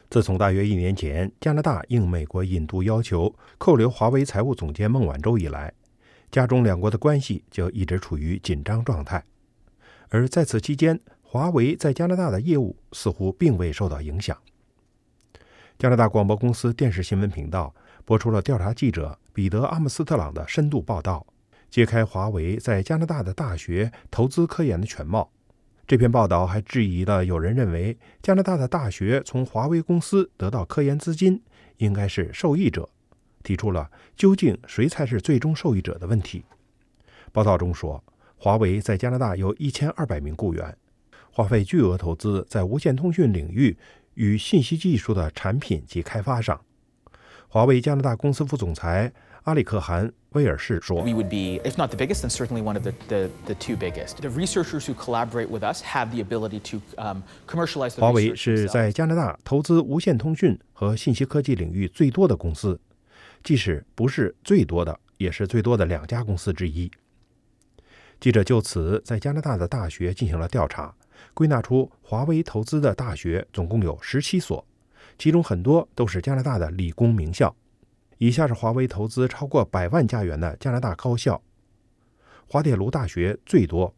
自从大约1年前，加拿大应美国引渡要求扣留华为财务总监孟晚舟以来，加中两国的关系就一直处于紧张状态。而在此期间，华为在加拿大的业务似乎并未受到影响。加拿大广播公司电视新闻频道播出了调查记者彼得·阿姆斯特朗的深度报道，揭开华为在加拿大的大学投资科研的全貌。这篇报道还质疑了有人认为加拿大的大学从华为公司得到科研资金应该是受益者，提出了究竟谁才是最终受益者的问题。报道中说，华为在加拿大有1200名雇员，花费巨额投资在无线通讯领域与信息技术的产品及开发上。华为加拿大公司副总裁阿里克·韩·威尔士说 We would be, if not the biggest, then certainly one of the two biggest. The researchers who collaborate with us have the ability to commercialize the research. 华为是在加拿大投资无线通讯和信息科技领域最多的公司，即使不是最多的，也是最多的2家公司之一。记者就此在加拿大的大学进行了调查，归纳出华为投资的大学总共有17所，其中很多都是加拿大的理工名校。以下是华为投资超过100万加元的加拿大高校：滑铁卢大学最多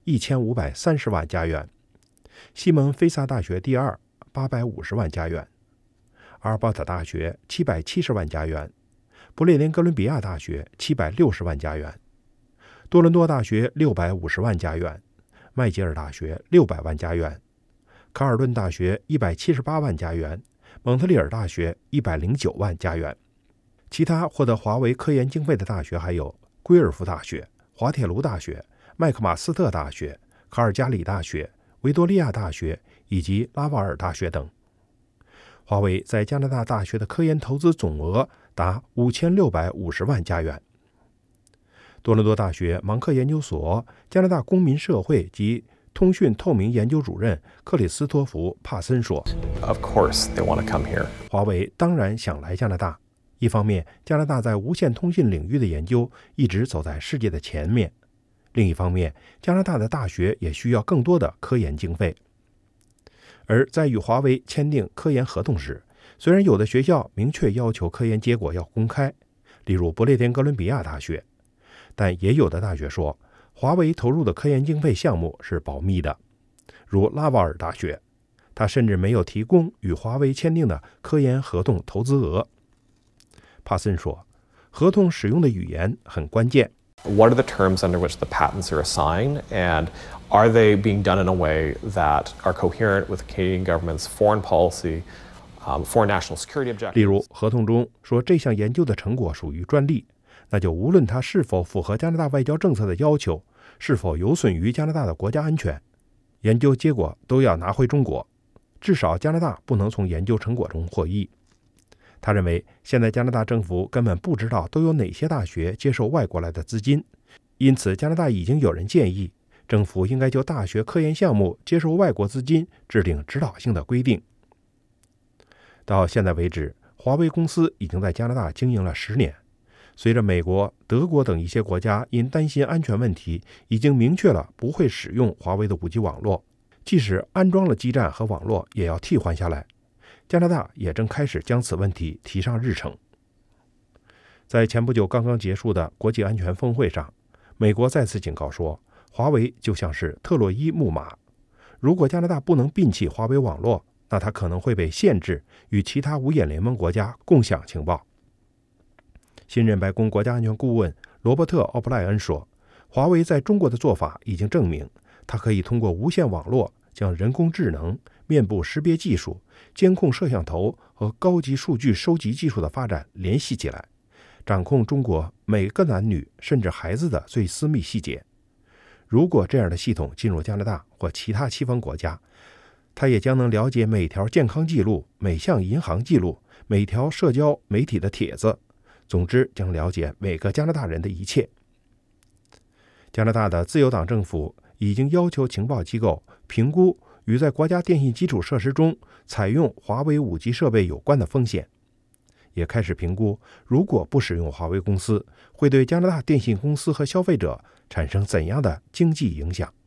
，1530万加元；西蒙菲萨大学第二，850万加元；阿尔伯塔大学770万加元；不列颠哥伦比亚大学760万加元；多伦多大学650万加元；麦吉尔大学600万加元；卡尔顿大学178万加元；蒙特利尔大学109万加元。其他获得华为科研经费的大学还有圭尔夫大学、滑铁卢大学、麦克马斯特大学、卡尔加里大学、维多利亚大学以及拉瓦尔大学等。华为在加拿大大学的科研投资总额达5650万加元。多伦多大学芒克研究所加拿大公民社会及通讯透明研究主任克里斯托弗·帕森说 Of course they want to come here. 华为当然想来加拿大。一方面，加拿大在无线通信领域的研究一直走在世界的前面；另一方面，加拿大的大学也需要更多的科研经费。而在与华为签订科研合同时，虽然有的学校明确要求科研结果要公开，例如不列颠哥伦比亚大学，但也有的大学说，华为投入的科研经费项目是保密的，如拉瓦尔大学，他甚至没有提供与华为签订的科研合同投资额。帕森说，合同使用的语言很关键。 What are the terms under which the patents are assigned, and are they being done in a way that are coherent with the Canadian government's foreign policy, foreign national security objectives? 例如，合同中说这项研究的成果属于专利，那就无论它是否符合加拿大外交政策的要求，是否有损于加拿大的国家安全，研究结果都要拿回中国，至少加拿大不能从研究成果中获益。他认为，现在加拿大政府根本不知道都有哪些大学接受外国来的资金，因此加拿大已经有人建议，政府应该就大学科研项目接受外国资金制定指导性的规定。到现在为止，华为公司已经在加拿大经营了10年。随着美国、德国等一些国家因担心安全问题，已经明确了不会使用华为的5G 网络，即使安装了基站和网络，也要替换下来。加拿大也正开始将此问题提上日程。在前不久刚刚结束的国际安全峰会上，美国再次警告说，华为就像是特洛伊木马，如果加拿大不能摒弃华为网络，那它可能会被限制与其他五眼联盟国家共享情报。新任白宫国家安全顾问罗伯特·奥布莱恩说，华为在中国的做法已经证明，它可以通过无线网络将人工智能、面部识别技术、监控摄像头和高级数据收集技术的发展联系起来，掌控中国每个男女甚至孩子的最私密细节。如果这样的系统进入加拿大或其他西方国家，它也将能了解每条健康记录、每项银行记录、每条社交媒体的帖子，总之将了解每个加拿大人的一切。加拿大的自由党政府已经要求情报机构评估与在国家电信基础设施中采用华为5G 设备有关的风险，也开始评估如果不使用华为公司，会对加拿大电信公司和消费者产生怎样的经济影响。